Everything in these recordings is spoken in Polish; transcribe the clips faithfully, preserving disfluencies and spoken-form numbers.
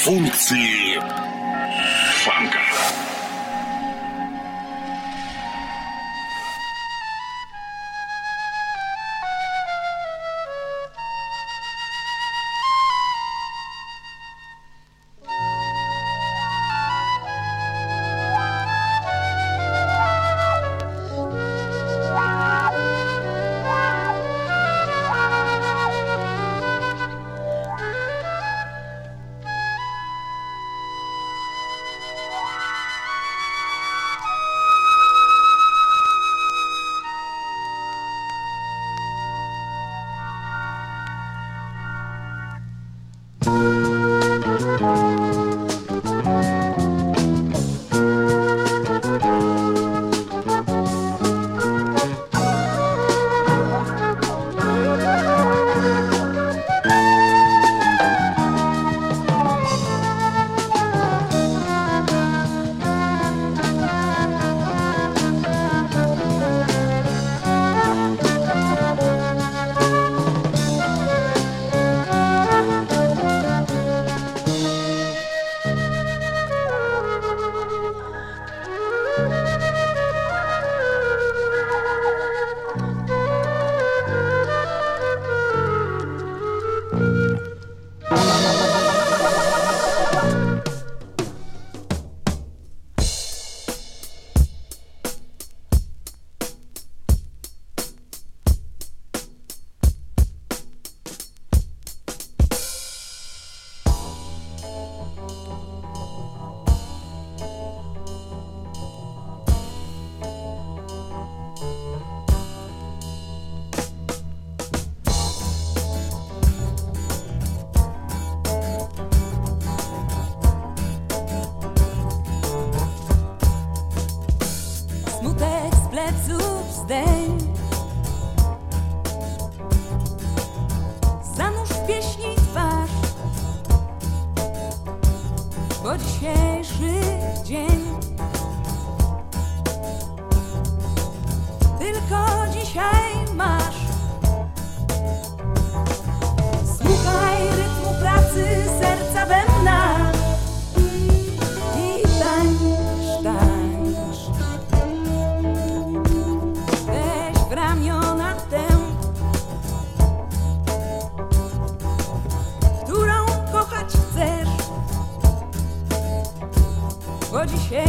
функции фанка. Zanurz w pieśni twarz, bo dzisiejszy dzień tylko dzisiaj masz. Słuchaj rytmu pracy serca bębna i tańcz, tańcz. Weź w ramiona tę, którą kochać chcesz, bo dzisiaj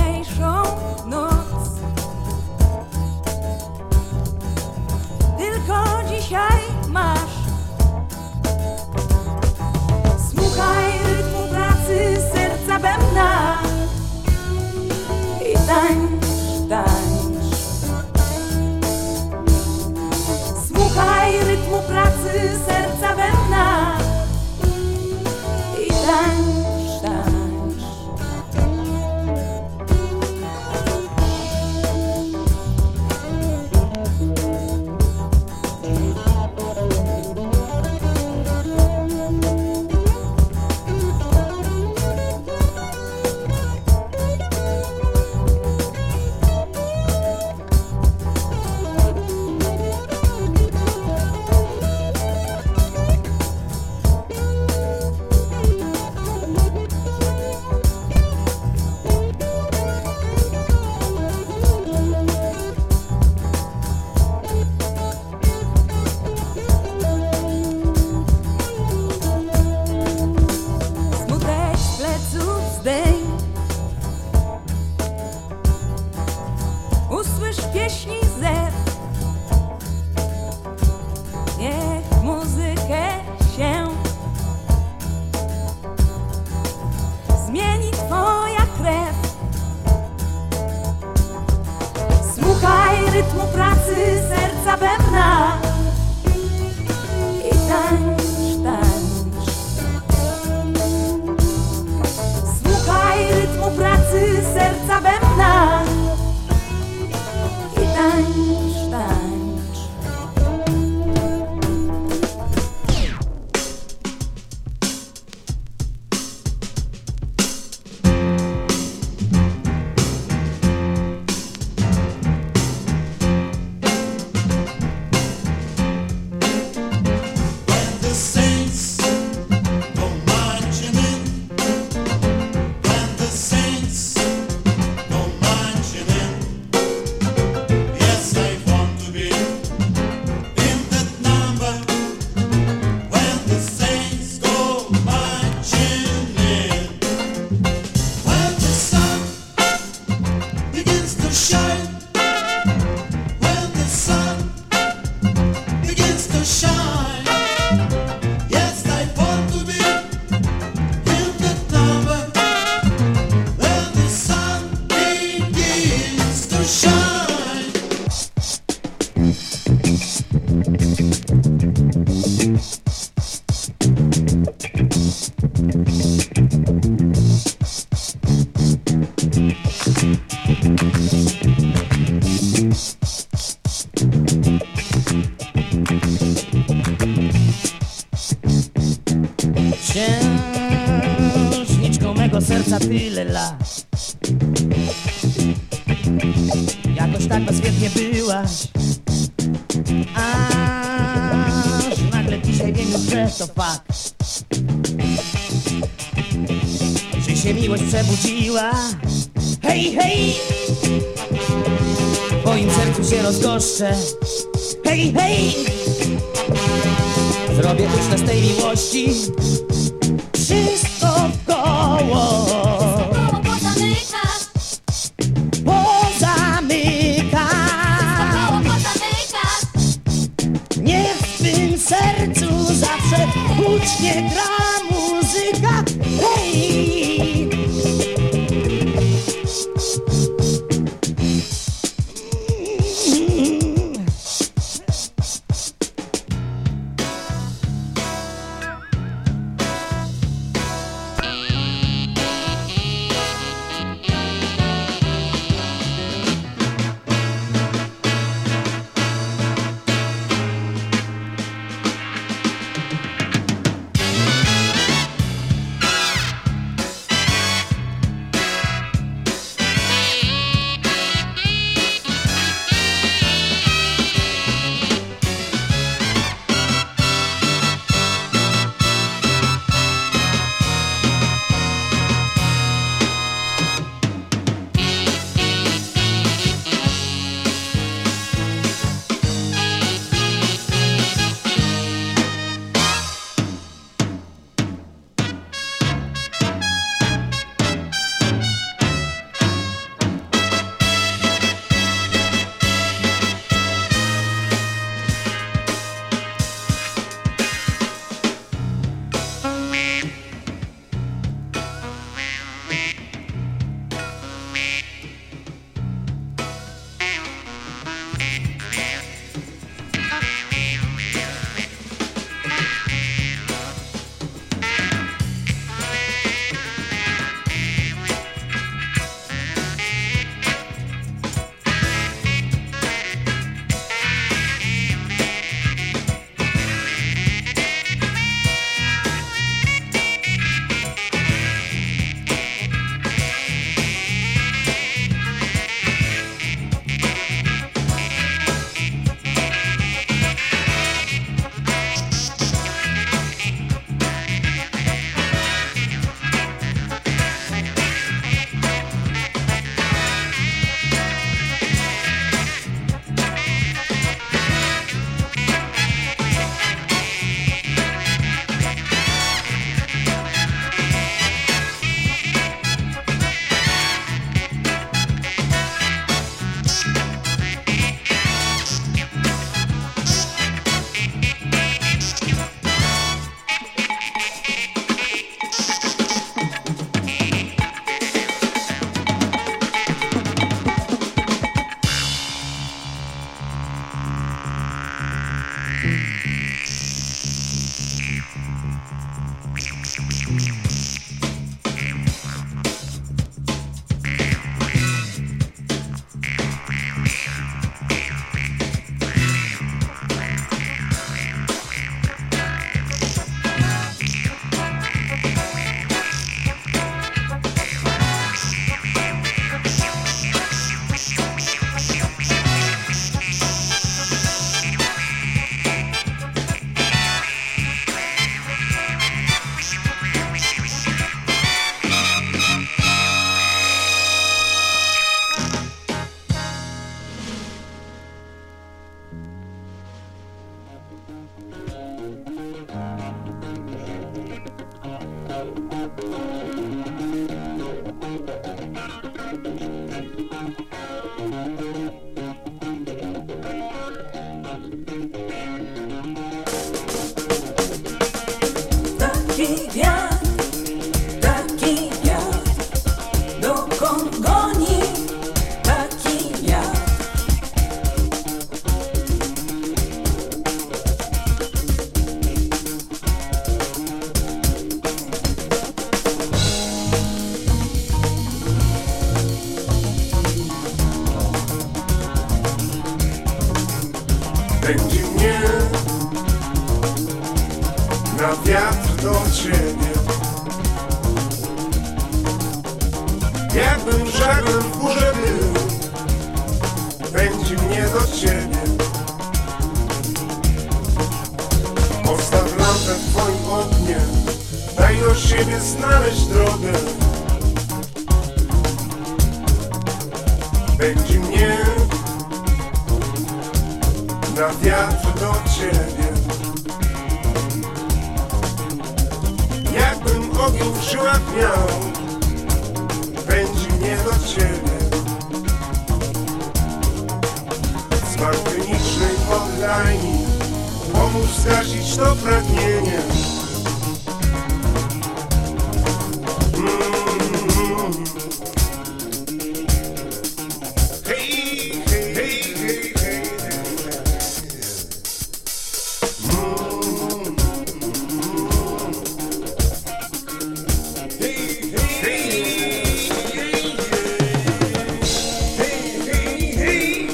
Księżniczką mego serca tyle lat, jakoś tak bezwiednie byłaś, aż nagle dzisiaj wiem już, że to fakt, że się miłość przebudziła. Hej, hej, w moim sercu się rozgoszczę. Hej, hej, zrobię ucztę z tej miłości. Wszystko wkoło pozamyka, niech w tym sercu zawsze hucznie gra muzyka. Hej, do ciebie. Jakbym żaglem w górze był, pędzi mnie do ciebie. Postaw lampę w twoim oknie, daj do siebie znaleźć drogę. Pędzi mnie na wiatr do ciebie. Jakbym ogień w żyłach miał, pędzi mnie do ciebie. Z martynicznej oddajni pomóż zgasić to pragnienie. Mm-hmm. Hej, hej, hej, hej, hej, hej. Mm-hmm. Hej, hej, hej, hej, hej, hej, hej.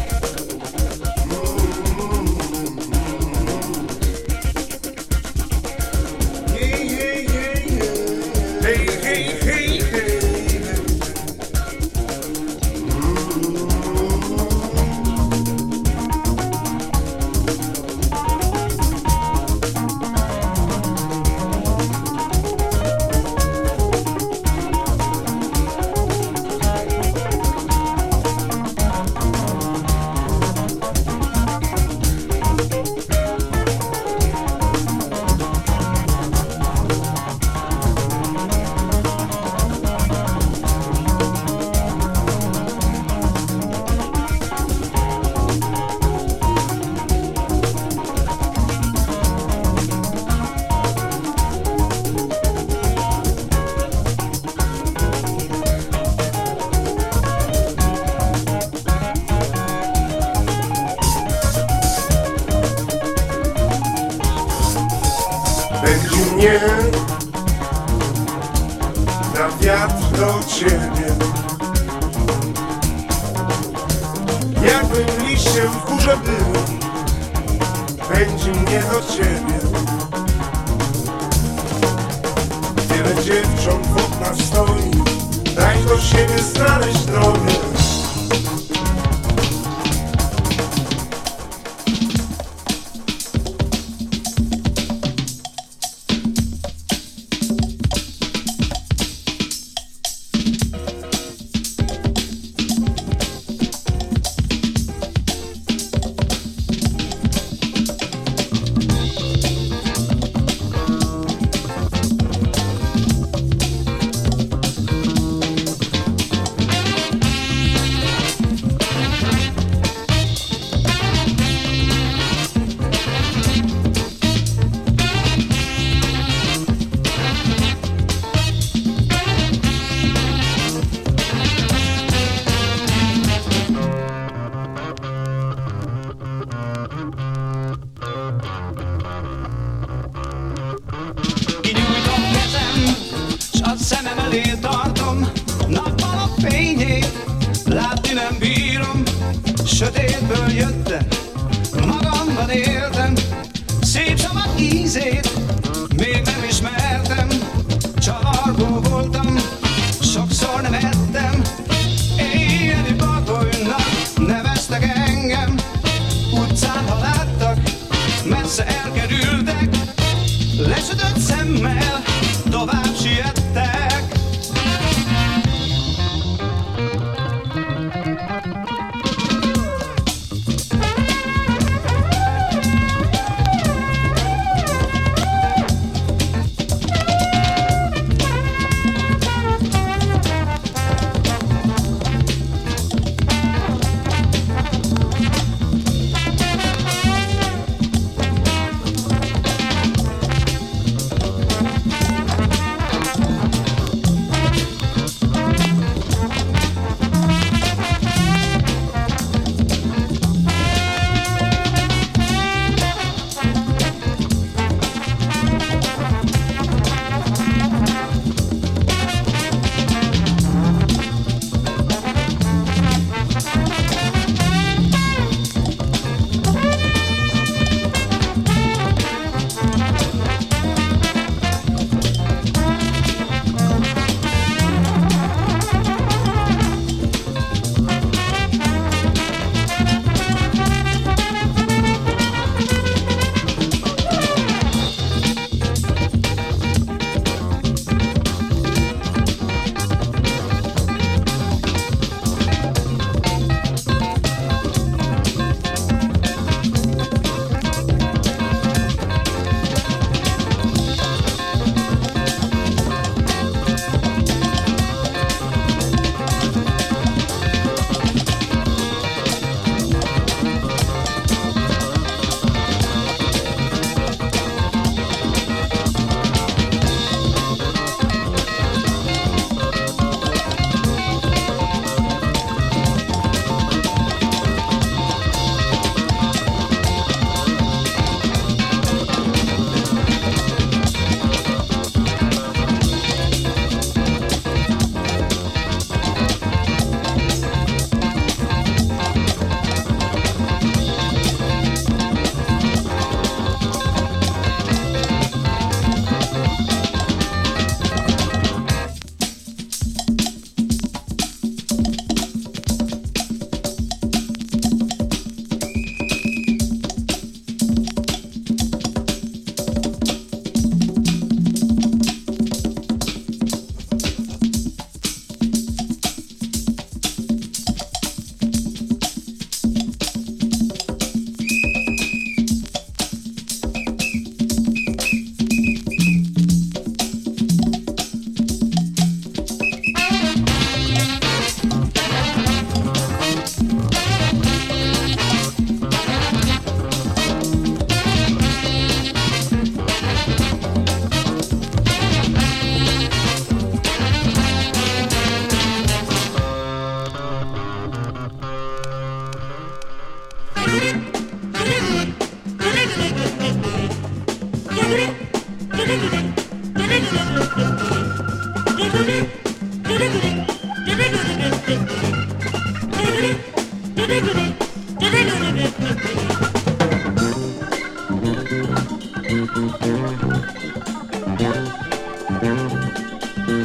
Pędzi mnie na wiatr do ciebie. Jakbym liściem w górze był, pędzi mnie do ciebie. Wiele dziewcząt wokół nas stoi, daj do siebie znaleźć drogę. Szemem elé tartom, nappal a fényét, látni nem bírom, sötétből jöttem, magamban éltem, szép szabad ízét, még nem ismertem, csavargó voltam, sokszor nem ettem, éjjeli bagolynak neveztek engem, utcán ha láttak, messze elkerültek, lesütött szemmel, tovább siettek.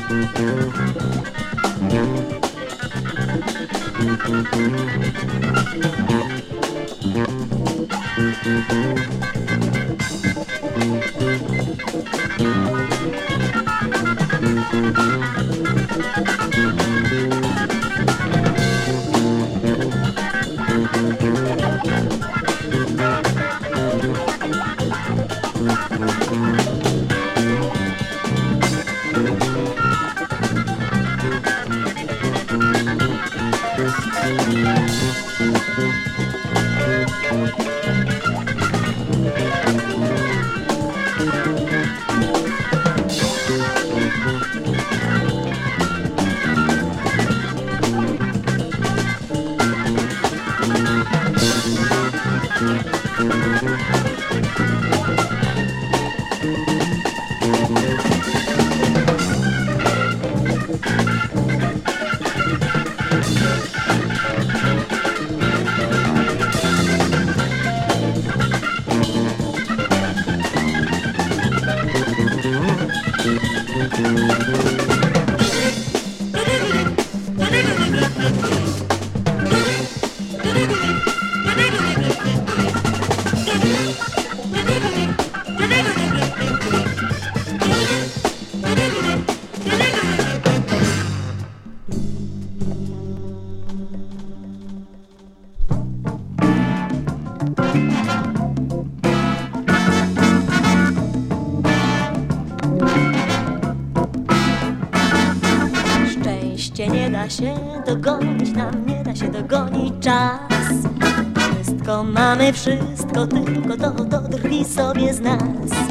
Nie da się dogonić, nam nie da się dogonić czas. Wszystko mamy, wszystko, tylko to, to drwi sobie z nas.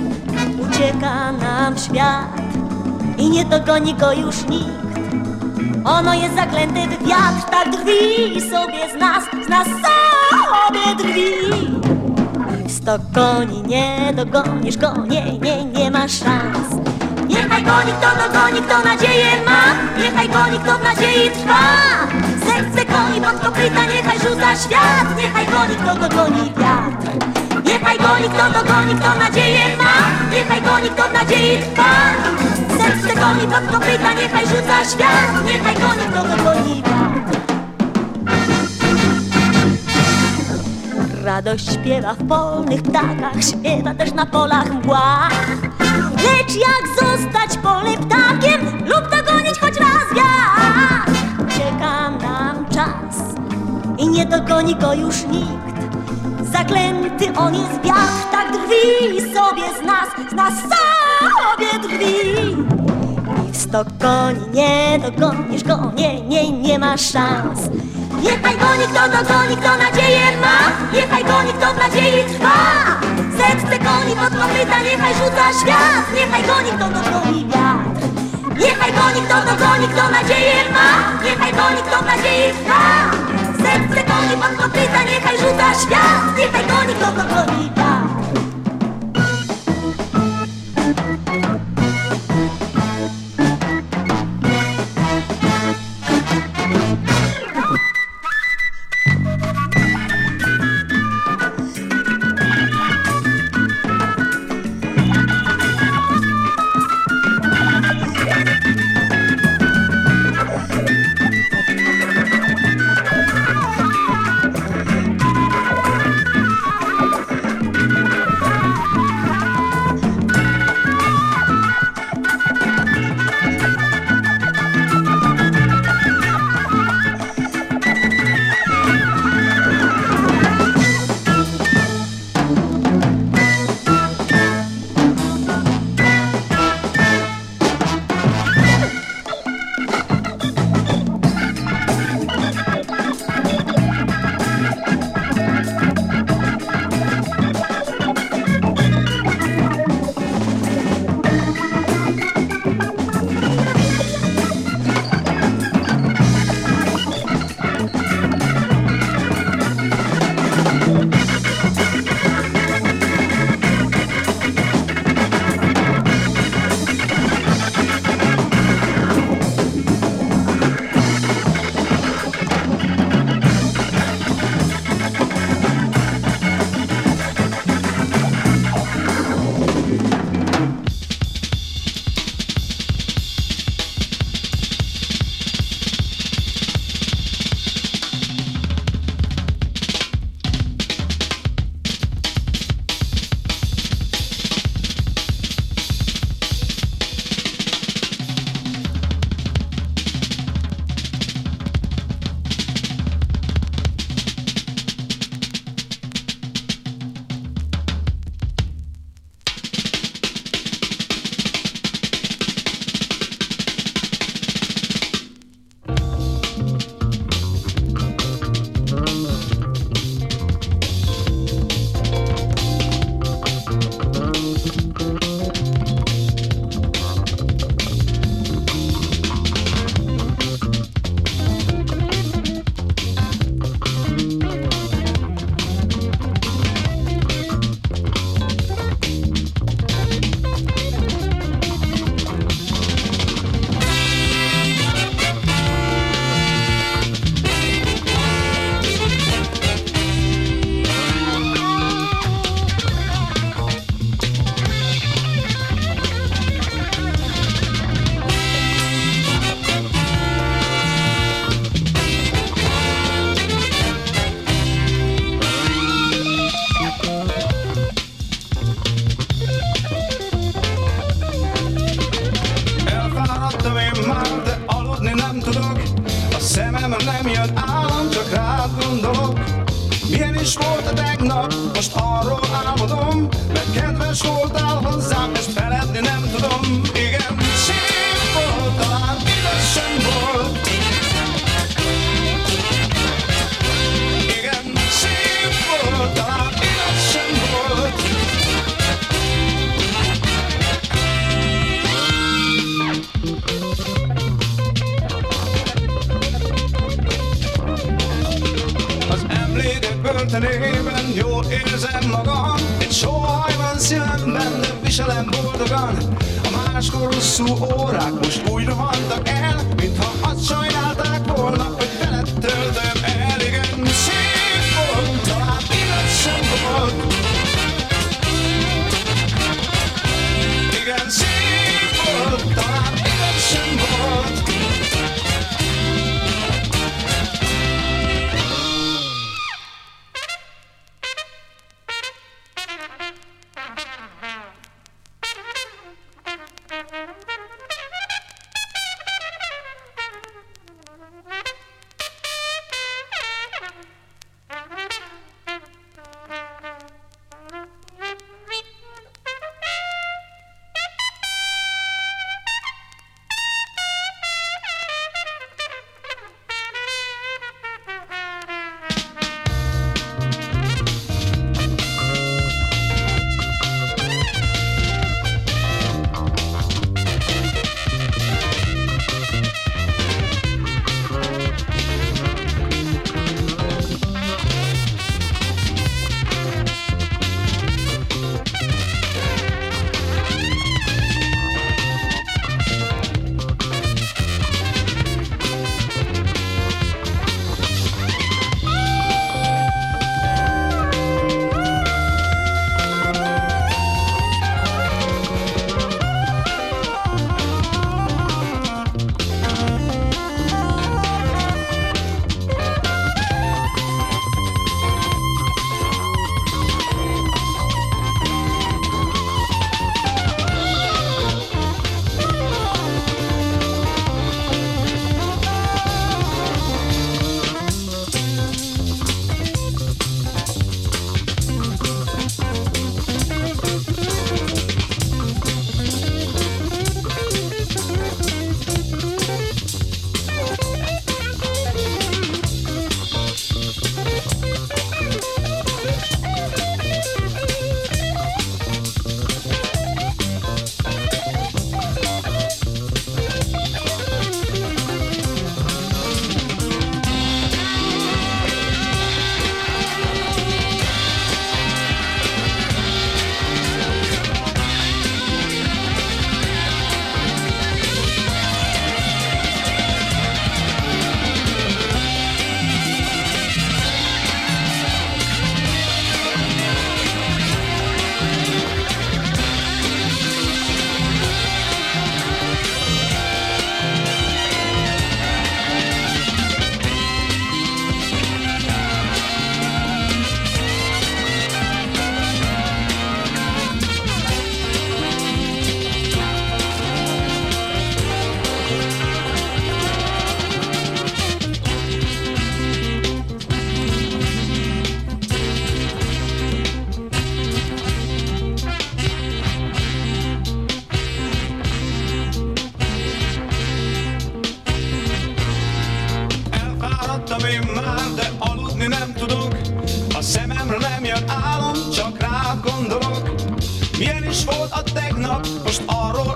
Ucieka nam świat i nie dogoni go już nikt. Ono jest zaklęte w wiatr, tak drwi sobie z nas, z nas sobie drwi. I w sto koni nie dogonisz go, nie, nie, nie ma szans. Niechaj goni kto dogoni, kto nadzieję ma. Niechaj goni kto w nadziei trwa. Serce goni pod kopyta, niechaj rzuca świat. Niechaj goni kto dogoni wiatr. Niechaj goni kto dogoni, kto nadzieję ma. Niechaj goni kto w nadziei trwa. Serce goni pod kopyta, niechaj rzuca świat. Niechaj goni kto dogoni wiatr. Radość śpiewa w polnych ptakach, śpiewa też na polach mgła. Lecz jak zostać polnym ptakiem lub dogonić choć raz wiatr? Ucieka nam czas i nie dogoni go już nikt. Zaklęty on jest wiatr, tak drwi sobie z nas, z nas sobie drwi. I w sto koni nie dogonisz go, nie, nie, nie ma szans. Niechaj goni kto dogoni, kto nadzieję ma. Niechaj goni kto w nadziei trwa. Serce goni pod kopyta, niechaj rzuca świat. Niechaj goni kto dogoni wiatr. Niechaj goni kto dogoni, kto nadzieję ma. Niechaj goni kto w nadziei trwa. Serce goni pod kopyta, niechaj rzuca świat. Niechaj goni kto dogoni wiatr. már, de aludni nem tudok. A szememre nem jön álom, csak rád gondolok. Milyen is volt a tegnap, most arról álmodom, mert kedves voltál hozzám, ezt feledni nem tudom. Igen, szép volt, talán igaz sem volt. Igen, szép volt, talán igaz sem volt. Az emlékek börtönében jól érzem magam. Egy sóhaj van szívemben, de viselem boldogan. A máskor hosszú órák most úgy rohantak el, mintha azt sajnálták volna, hogy veled töltöm el. Igen, szép volt, talán igaz sem volt. Igen, szép volt, talán igaz sem volt. Milyen is volt a tegnap, most arról